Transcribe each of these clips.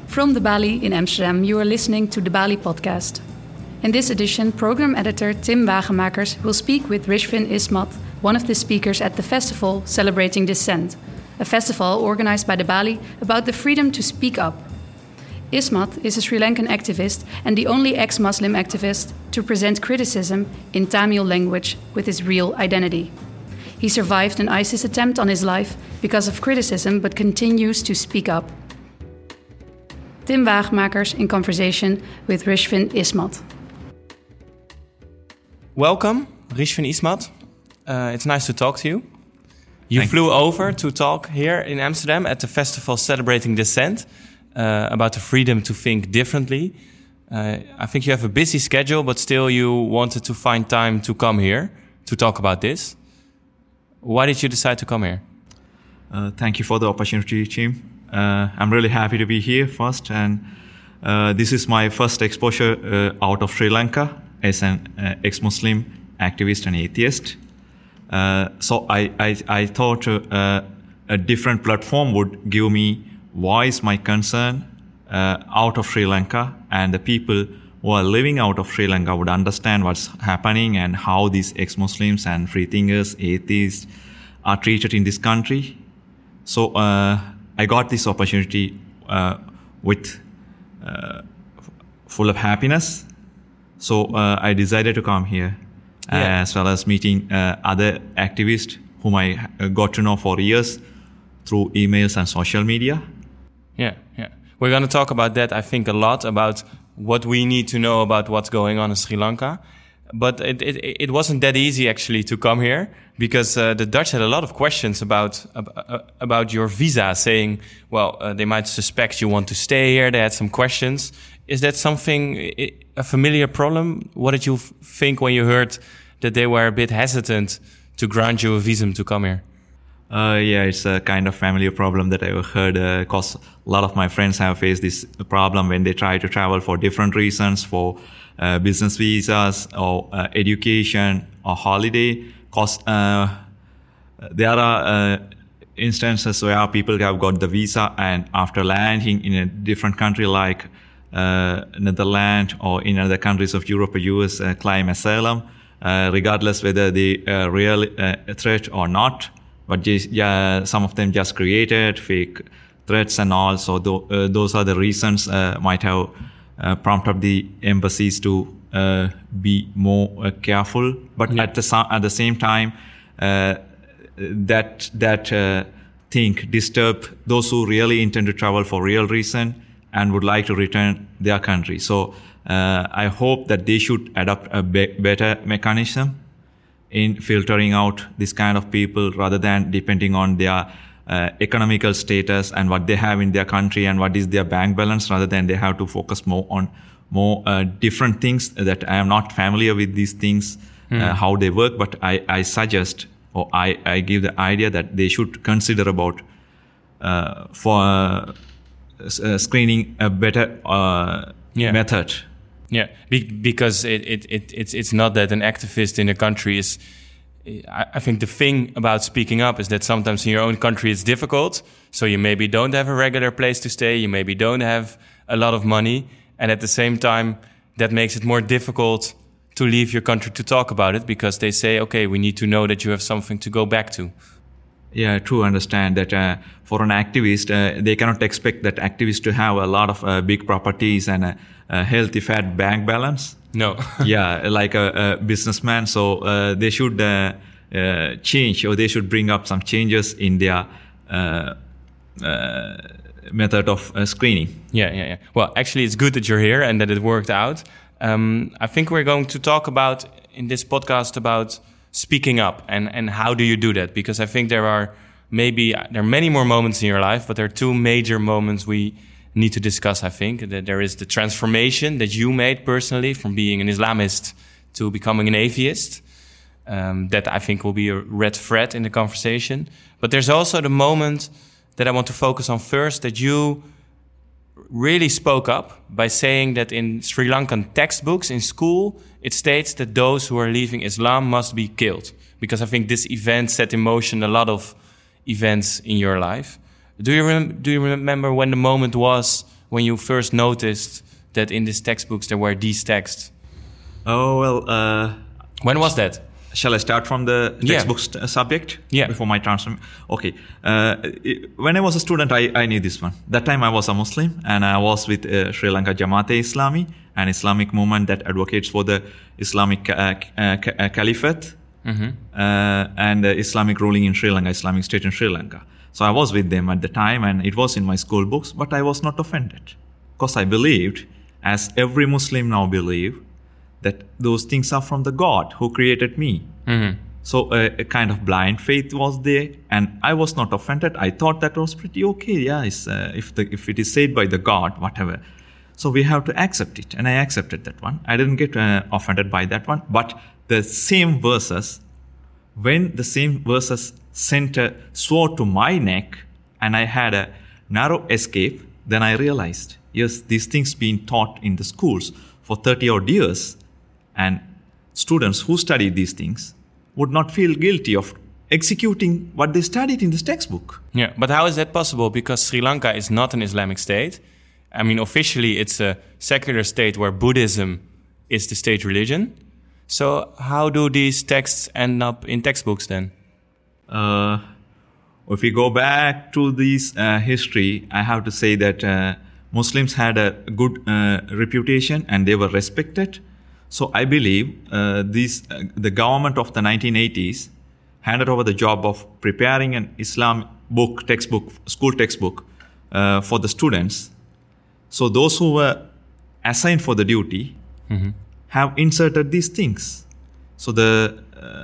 From the Bali in Amsterdam, you are listening to the Bali podcast. In this edition, program editor Tim Wagemakers will speak with Rishvin Ismat, one of the speakers at the festival celebrating dissent, a festival organized by the Bali about the freedom to speak up. Ismat is a Sri Lankan activist and the only ex-Muslim activist to present criticism in Tamil language with his real identity. He survived an ISIS attempt on his life because of criticism but continues to speak up. Tim Wagemakers in conversation with Rishvin Ismat. Welcome, Rishvin Ismat. It's nice to talk to you. You flew over to talk here in Amsterdam at the festival celebrating dissent about the freedom to think differently. I think you have a busy schedule, but still you wanted to find time to come here to talk about this. Why did you decide to come here? Thank you for the opportunity, Tim. I'm really happy to be here first, and this is my first exposure out of Sri Lanka as an ex-Muslim activist and atheist. So I thought a different platform would give me voice my concern out of Sri Lanka, and the people who are living out of Sri Lanka would understand what's happening and how these ex-Muslims and free-thinkers, atheists are treated in this country. So I got this opportunity with full of happiness. So I decided to come here, as well as meeting other activists whom I got to know for years through emails and social media. Yeah. We're going to talk about that, I think, a lot, about what we need to know about what's going on in Sri Lanka. But it wasn't that easy, actually, to come here, because the Dutch had a lot of questions about your visa, saying, they might suspect you want to stay here. They had some questions. Is that something, a familiar problem? What did you think when you heard that they were a bit hesitant to grant you a visum to come here? It's a kind of familiar problem that I've heard, because a lot of my friends have faced this problem when they try to travel for different reasons, for business visas or education or holiday. Because there are instances where people have got the visa and after landing in a different country like Netherlands or in other countries of Europe or US, claim asylum, regardless whether they are real threat or not. But some of them just created fake threats and all. So those are the reasons might have prompted the embassies to be more careful. But at the same time, that thing disturb those who really intend to travel for real reason and would like to return their country. So I hope that they should adopt a better mechanism in filtering out this kind of people rather than depending on their economical status and what they have in their country and what is their bank balance, rather than they have to focus more on different things that I am not familiar with these things, how they work. But I suggest, or I give the idea that they should consider about for screening a better method. Yeah, because it's not that an activist in a country is... I think the thing about speaking up is that sometimes in your own country it's difficult. So you maybe don't have a regular place to stay. You maybe don't have a lot of money. And at the same time, that makes it more difficult to leave your country to talk about it, because they say, okay, we need to know that you have something to go back to. Yeah, true. Understand that for an activist, they cannot expect that activists to have a lot of big properties and a healthy, fat bank balance. No. Yeah, like a businessman. So they should change, or they should bring up some changes in their method of screening. Yeah. Well, actually, it's good that you're here and that it worked out. I think we're going to talk about, in this podcast, about speaking up and how do you do that? Because I think there are many more moments in your life, but there are two major moments we need to discuss. I think that there is the transformation that you made personally from being an Islamist to becoming an atheist. That I think will be a red thread in the conversation. But there's also the moment that I want to focus on first, that you really spoke up by saying that in Sri Lankan textbooks in school, it states that those who are leaving Islam must be killed. Because I think this event set in motion a lot of events in your life. Do you remember when the moment was when you first noticed that in these textbooks there were these texts? Oh, well... when was that? Shall I start from the textbook subject? Yeah. Before my transfer? Okay. When I was a student, I knew this one. That time I was a Muslim, and I was with Sri Lanka Jamaat-e-Islami, an Islamic movement that advocates for the Islamic caliphate and Islamic ruling in Sri Lanka, Islamic State in Sri Lanka. So I was with them at the time, and it was in my school books, but I was not offended. Because I believed, as every Muslim now believes, that those things are from the God who created me. So a kind of blind faith was there, and I was not offended. I thought that was pretty okay. Yeah, if it is said by the God, whatever. So we have to accept it, and I accepted that one. I didn't get offended by that one. But the same verses, when the same verses sent a sword to my neck, and I had a narrow escape, then I realized, yes, these things being taught in the schools for 30 odd years, and students who studied these things would not feel guilty of executing what they studied in this textbook. Yeah, but how is that possible? Because Sri Lanka is not an Islamic state. I mean, officially it's a secular state where Buddhism is the state religion. So how do these texts end up in textbooks then? If we go back to this history, I have to say that Muslims had a good reputation and they were respected. So I believe the government of the 1980s handed over the job of preparing an Islam textbook, school textbook for the students. So those who were assigned for the duty have inserted these things. So the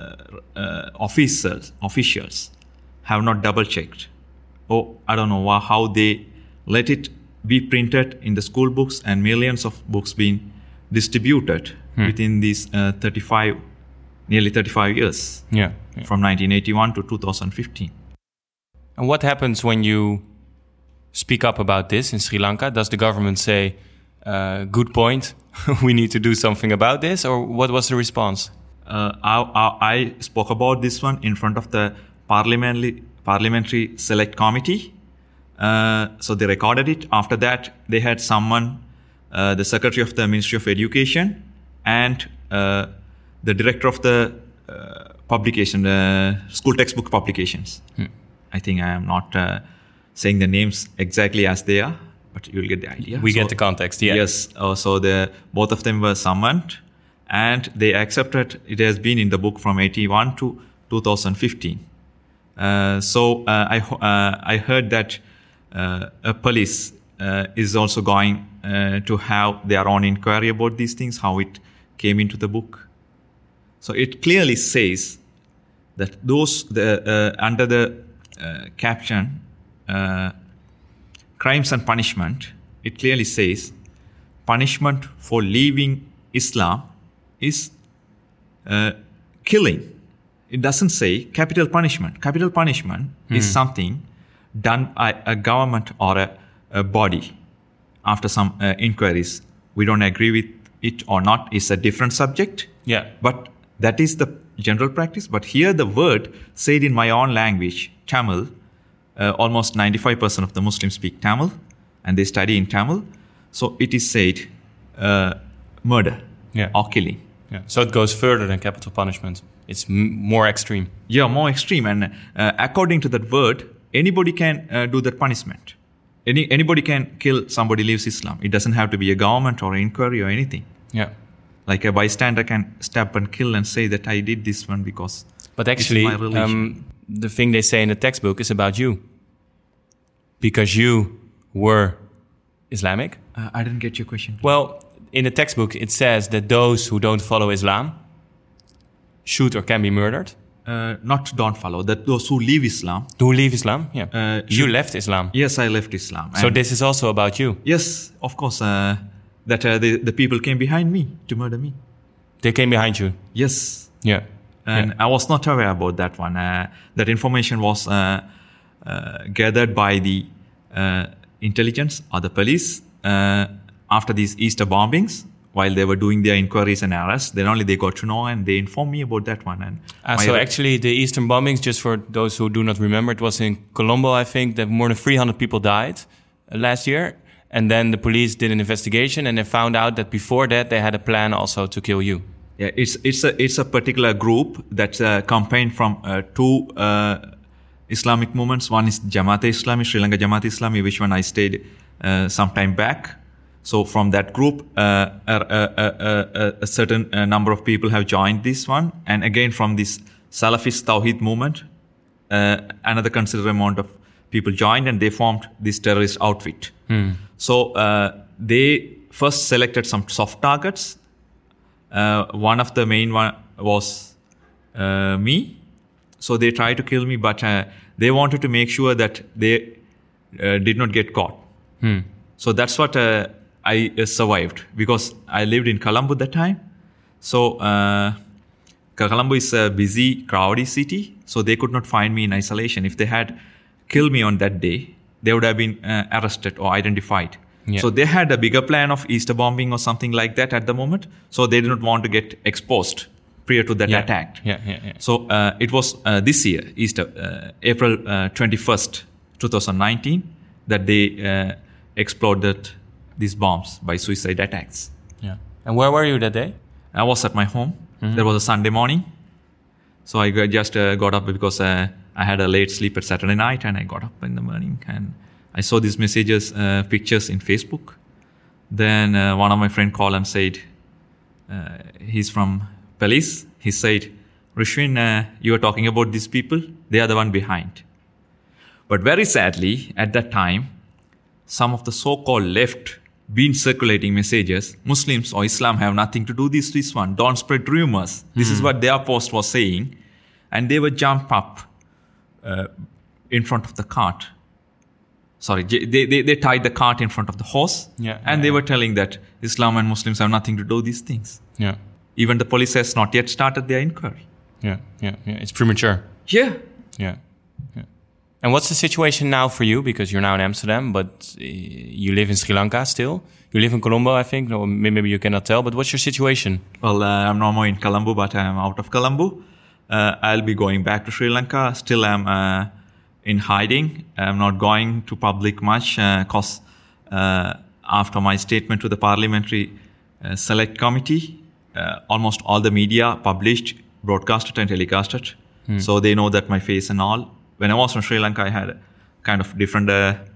officials have not double-checked. Oh, I don't know how they let it be printed in the school books and millions of books being distributed within these nearly 35 years. Yeah. From 1981 to 2015. And what happens when you speak up about this in Sri Lanka? Does the government say, good point, we need to do something about this? Or what was the response? I spoke about this one in front of the Parliamentary Select Committee. So they recorded it. After that, they had someone, the Secretary of the Ministry of Education and the Director of the publication, the school textbook publications. I think I am not saying the names exactly as they are, but you'll get the idea. We get the context, yeah. Yes, so both of them were summoned and they accepted it has been in the book from 81 to 2015. So I heard that a police is also going to have their own inquiry about these things, how it came into the book. So it clearly says that under the caption crimes and punishment, it clearly says punishment for leaving Islam is killing. It doesn't say capital punishment. Capital punishment is something done by a government or a body after some inquiries. We don't agree with it or not. It's a different subject. Yeah. But that is the general practice. But here the word said in my own language, Tamil, almost 95% of the Muslims speak Tamil and they study in Tamil. So it is said murder or killing. Yeah. So it goes further than capital punishment. It's more extreme. Yeah, more extreme. And according to that word, anybody can do that punishment. Anybody can kill somebody who leaves Islam. It doesn't have to be a government or an inquiry or anything. Yeah. Like a bystander can stab and kill and say that I did this one because but actually, it's my religion. The thing they say in the textbook is about you. Because you were Islamic. I didn't get your question. Well, in the textbook, it says that those who don't follow Islam should or can be murdered. Not don't follow, that those who leave Islam. Who leave Islam? Yeah. You left Islam. Yes, I left Islam. So this is also about you. Yes, of course. That the people came behind me to murder me. They came behind you? Yes. Yeah. And I was not aware about that one. That information was gathered by the intelligence or the police after these Easter bombings. While they were doing their inquiries and arrests, then only they got to know and they informed me about that one. And so actually the Eastern bombings, just for those who do not remember, it was in Colombo, I think, that more than 300 people died last year. and then the police did an investigation, and they found out that before that they had a plan also to kill you. Yeah, it's a particular group that's campaigned from two Islamic movements. One is Jamaat-e-Islami, Sri Lanka Jamaat-e-Islami, which one I stayed some time back. So from that group, a certain number of people have joined this one. And again, from this Salafist Tawhid movement, another considerable amount of people joined, and they formed this terrorist outfit. So they first selected some soft targets. One of the main one was me. So they tried to kill me, but they wanted to make sure that they did not get caught. So that's what I survived, because I lived in Colombo at that time. So Colombo is a busy, crowded city, so they could not find me in isolation. If they had killed me on that day, they would have been arrested or identified. Yeah. So they had a bigger plan of Easter bombing or something like that at the moment. So they did not want to get exposed prior to that attack. So it was this year, Easter, April 21st, 2019, that they exploded these bombs by suicide attacks. Yeah. And where were you that day? I was at my home. There was a Sunday morning. So I just got up because I had a late sleep at Saturday night, and I got up in the morning and I saw these messages, pictures in Facebook. Then one of my friend called and said, he's from police. He said, Rishwin, you are talking about these people. They are the one behind. But very sadly, at that time, some of the so-called left been circulating messages, Muslims or Islam have nothing to do with this one. Don't spread rumors. This is what their post was saying. And they would jump up in front of the cart. Sorry, they tied the cart in front of the horse. And they were telling that Islam and Muslims have nothing to do with these things. Even the police has not yet started their inquiry. It's premature. Yeah. And what's the situation now for you? Because you're now in Amsterdam, but you live in Sri Lanka still. You live in Colombo, I think. Or maybe you cannot tell, but what's your situation? Well, I'm no more in Colombo, but I'm out of Colombo. I'll be going back to Sri Lanka. Still, I'm in hiding. I'm not going to public much because after my statement to the Parliamentary Select Committee, almost all the media published, broadcasted and telecasted. So they know that my face and all. When I was from Sri Lanka, I had a kind of different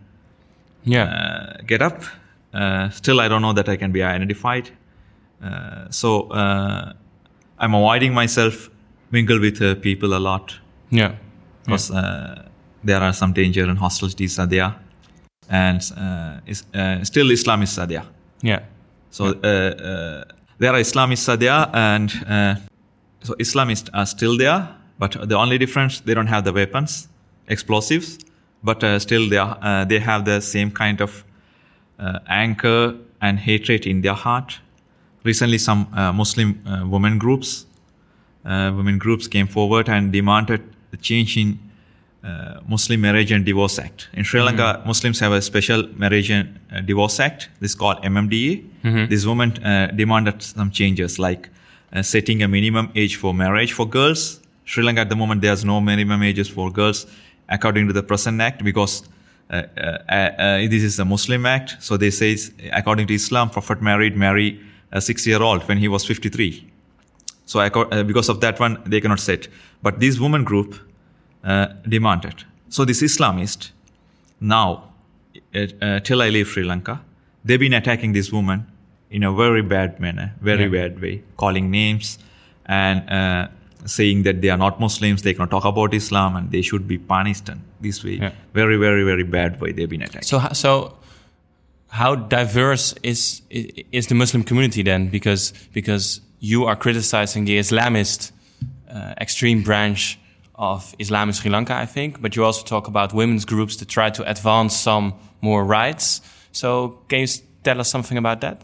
get up. Still, I don't know that I can be identified. So I'm avoiding myself, mingle with people a lot. Because there are some danger and hostilities are there. And still Islamists are there. So there are Islamists are there, and so Islamists are still there. But the only difference, they don't have the weapons, explosives, but still they have the same kind of anger and hatred in their heart. Recently, some Muslim women groups came forward and demanded the change in Muslim Marriage and Divorce Act. In Sri Lanka, Muslims have a special Marriage and Divorce Act. This is called MMDA. This woman demanded some changes, like setting a minimum age for marriage for girls. Sri Lanka at the moment, there's no minimum ages for girls according to the present act, because this is a Muslim act. So they say, according to Islam, Prophet married a 6-year-old when he was 53. So because of that one, they cannot set. But this woman group demanded. So this Islamist, now, till I leave Sri Lanka, they've been attacking this woman in a very bad manner, bad way, calling names and saying that they are not Muslims, they cannot talk about Islam, and they should be punished in this way. Very, very, very bad way they've been attacked. So how diverse is the Muslim community then? Because you are criticizing the Islamist extreme branch of Islam in Sri Lanka, I think, but you also talk about women's groups that try to advance some more rights. So can you tell us something about that?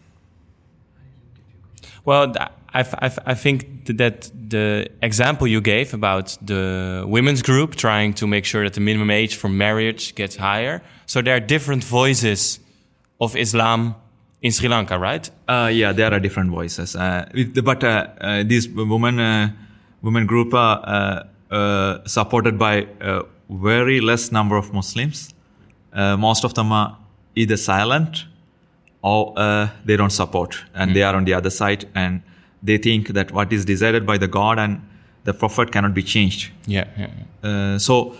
Well, I think that the example you gave about the women's group trying to make sure that the minimum age for marriage gets higher. So there are different voices of Islam in Sri Lanka, right? Yeah, there are different voices. But this women group are supported by a very less number of Muslims. Most of them are either silent or they don't support, and they are on the other side, and they think that what is decided by the God and the Prophet cannot be changed. So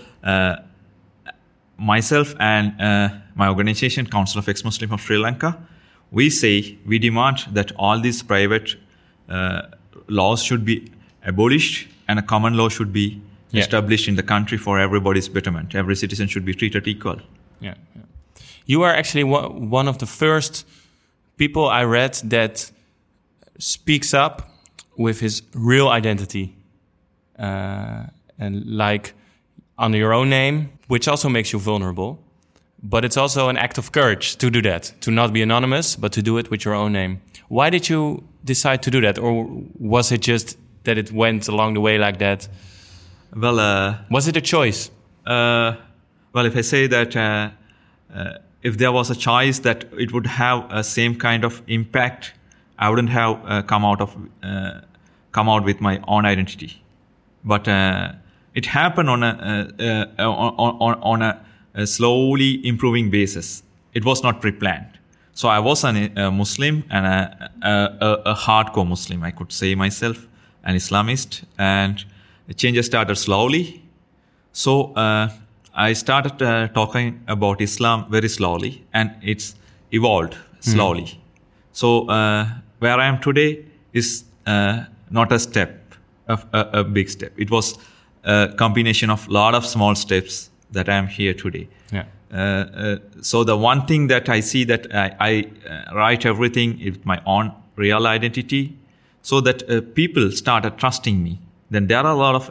myself and my organization, Council of Ex-Muslims of Sri Lanka, we demand that all these private laws should be abolished and a common law should be established in the country for everybody's betterment. Every citizen should be treated equal. You are actually one of the first people I read that speaks up with his real identity, and like under your own name, which also makes you vulnerable. But it's also an act of courage to do that, to not be anonymous, but to do it with your own name. Why did you decide to do that? Or was it just that it went along the way like that? Well, was it a choice? Well, if I say that if there was a choice that it would have a same kind of impact, I wouldn't have come out with my own identity. But it happened on a slowly improving basis. It was not pre-planned. So I was a Muslim and a hardcore Muslim, I could say myself, an Islamist, and the changes started slowly. So I started talking about Islam very slowly, and it's evolved slowly. So where I am today is not a step, a big step. It was a combination of a lot of small steps that I am here today. So the one thing that I see that I write everything with my own real identity, so that people started trusting me. Then there are a lot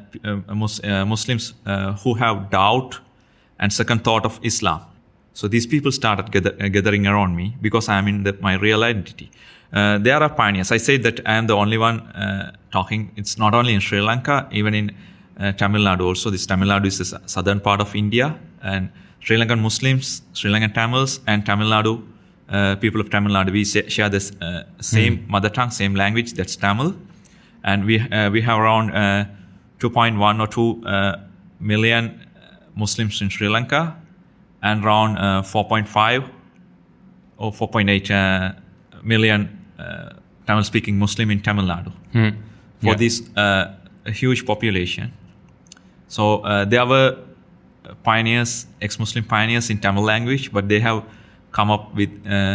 of Muslims who have doubt and second thought of Islam. So these people started gathering around me because I am in my real identity. There are pioneers. I say that I am the only one talking. It's not only in Sri Lanka, even in Tamil Nadu also. This Tamil Nadu is the southern part of India, and Sri Lankan Muslims, Sri Lankan Tamils, and Tamil Nadu, people of Tamil Nadu, we share this same mother tongue, same language, that's Tamil. And we have around 2.1 or 2 million Muslims in Sri Lanka, and around 4.5 or 4.8 million Tamil-speaking Muslim in Tamil Nadu. For this huge population. So there were pioneers, ex-Muslim pioneers in Tamil language, but they have come up with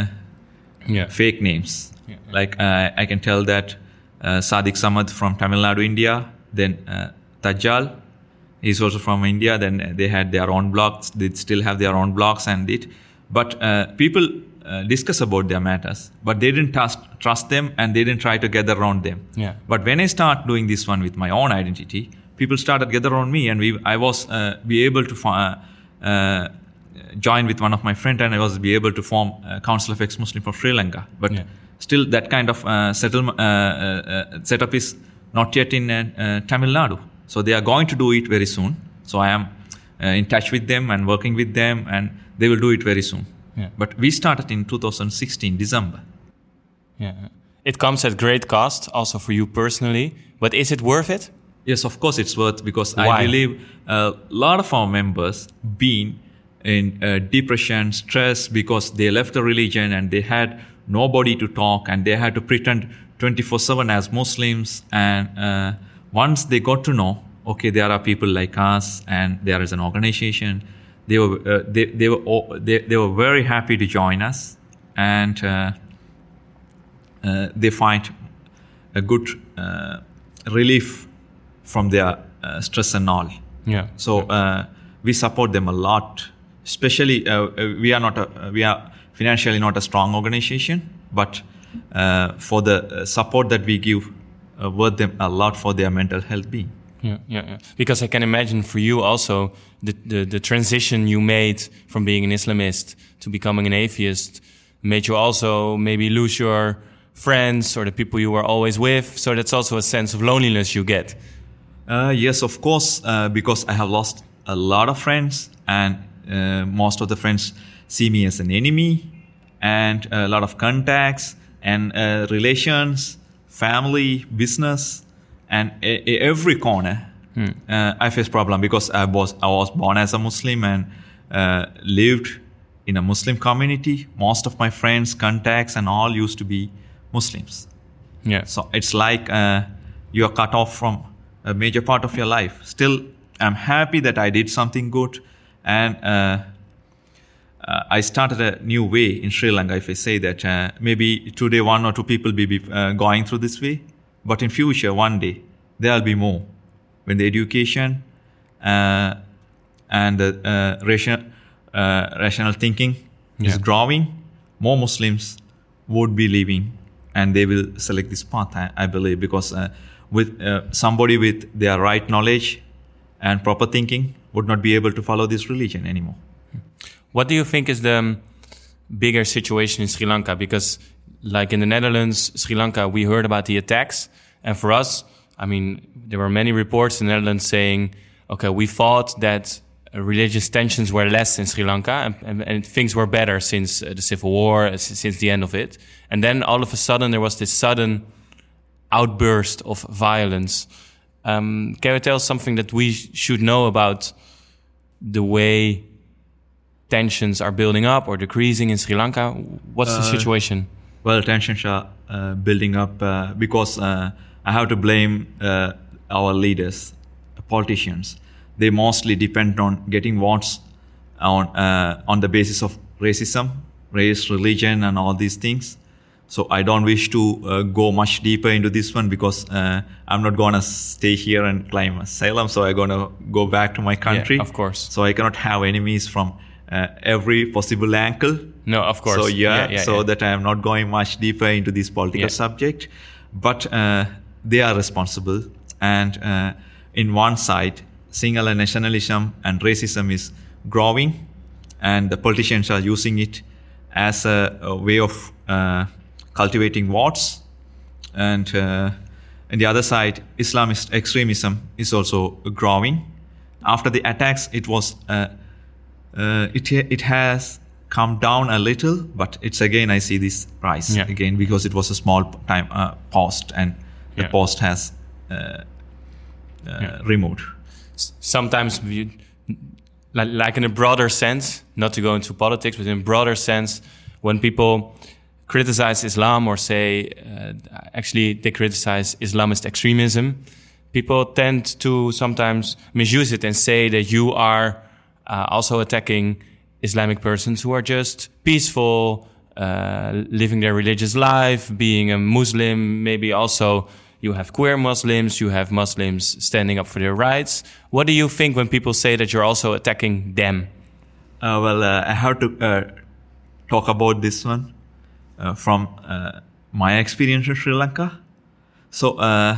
fake names. Like I can tell that Sadiq Samad from Tamil Nadu, India, then Tajal, he's also from India, then they had their own blogs, they still have their own blogs and it. But people discuss about their matters, but they didn't trust them and they didn't try to gather around them. But when I start doing this one with my own identity, people started gather around me, and I was be able to join with one of my friends, and I was be able to form a Council of Ex-Muslims of Sri Lanka. But still that kind of setup is not yet in Tamil Nadu. So they are going to do it very soon. So I am in touch with them and working with them, and they will do it very soon. But we started in 2016, December. It comes at great cost, also for you personally. But is it worth it? Yes, of course it's worth, because Why? I believe a lot of our members been in depression, stress, because they left the religion and they had nobody to talk, and they had to pretend 24/7 as Muslims. And once they got to know, okay, there are people like us, and there is an organization, they were very happy to join us, and they find a good relief from their stress and all. So we support them a lot. Especially, we are financially not a strong organization, but for the support that we give, worth them a lot for their mental health being. Because I can imagine for you also the transition you made from being an Islamist to becoming an atheist made you also maybe lose your friends or the people you were always with. So that's also a sense of loneliness you get. Yes, of course, because I have lost a lot of friends, and most of the friends see me as an enemy, and a lot of contacts and relations, family, business, and every corner I face problem, because I was born as a Muslim and lived in a Muslim community. Most of my friends, contacts, and all used to be Muslims. Yeah. So it's like you are cut off from a major part of your life. Still, I'm happy that I did something good, and I started a new way in Sri Lanka. If I say that maybe today 1 or 2 people will be going through this way, but in future, one day, there will be more. When the education and the rational thinking is growing, more Muslims would be living, and they will select this path, I believe, because with somebody with their right knowledge and proper thinking would not be able to follow this religion anymore. What do you think is the bigger situation in Sri Lanka? Because like in the Netherlands, Sri Lanka, we heard about the attacks. And for us, I mean, there were many reports in the Netherlands saying, okay, we thought that religious tensions were less in Sri Lanka and things were better since the civil war, since the end of it. And then all of a sudden there was this sudden outburst of violence. Can you tell us something that we should know about the way tensions are building up or decreasing in Sri Lanka? What's the situation? Well, tensions are building up because I have to blame our leaders, politicians. They mostly depend on getting votes on the basis of racism, race, religion, and all these things. So I don't wish to go much deeper into this one because I'm not going to stay here and claim asylum. So I'm going to go back to my country. Yeah, of course. So I cannot have enemies from every possible angle. No, of course. So that I am not going much deeper into this political subject. But they are responsible. And in one side, Sinhala nationalism and racism is growing, and the politicians are using it as a way of cultivating votes. And on the other side, Islamist extremism is also growing. After the attacks, it was it has come down a little, but it's again I see this rise again because it was a small time post, and the post has removed. Sometimes, like in a broader sense, not to go into politics, but in a broader sense, when people criticize Islam or say, actually they criticize Islamist extremism, people tend to sometimes misuse it and say that you are also attacking Islamic persons who are just peaceful, living their religious life, being a Muslim, maybe also you have queer Muslims, you have Muslims standing up for their rights. What do you think when people say that you're also attacking them? I have to talk about this one from my experience in Sri Lanka. So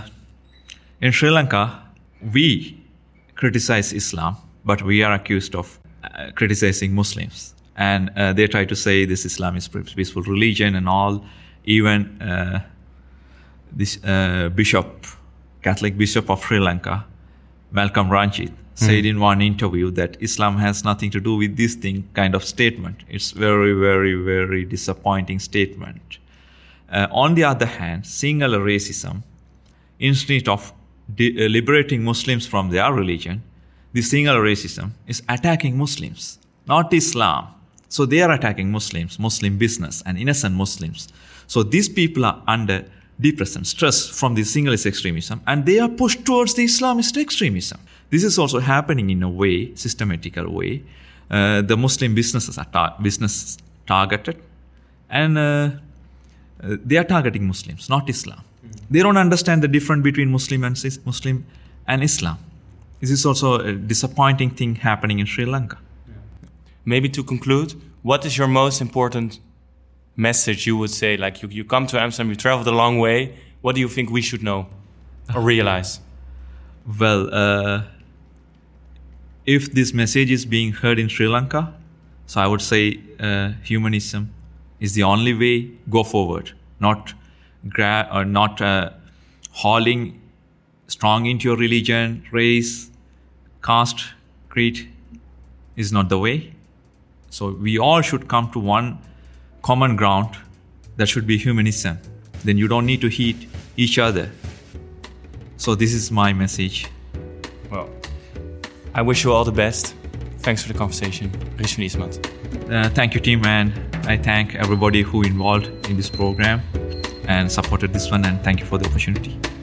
in Sri Lanka, we criticize Islam, but we are accused of criticizing Muslims. And they try to say this Islam is peaceful religion and all. Even this Catholic bishop of Sri Lanka, Malcolm Ranjit, said in one interview that Islam has nothing to do with this thing kind of statement. It's very, very, very disappointing statement. On the other hand, Sinhala racism, instead of liberating Muslims from their religion, the Sinhala racism is attacking Muslims, not Islam. So they are attacking Muslims, Muslim business, and innocent Muslims. So these people are under depression, stress from the Sinhalist extremism, and they are pushed towards the Islamist extremism. This is also happening in a way, systematical way. The Muslim businesses are business targeted, and they are targeting Muslims, not Islam. They don't understand the difference between Muslim and Islam. This is also a disappointing thing happening in Sri Lanka. Maybe to conclude, what is your most important message you would say? Like you come to Amsterdam, you traveled a long way. What do you think we should know or realize? Well, if this message is being heard in Sri Lanka, so I would say humanism is the only way. Go forward, not hauling strong into your religion, race, caste, creed is not the way. So we all should come to one common ground that should be humanism. Then you don't need to hate each other. So this is my message. Well, I wish you all the best. Thanks for the conversation, Rishvin Ismat. Thank you, Tim, and I thank everybody who involved in this program and supported this one, and thank you for the opportunity.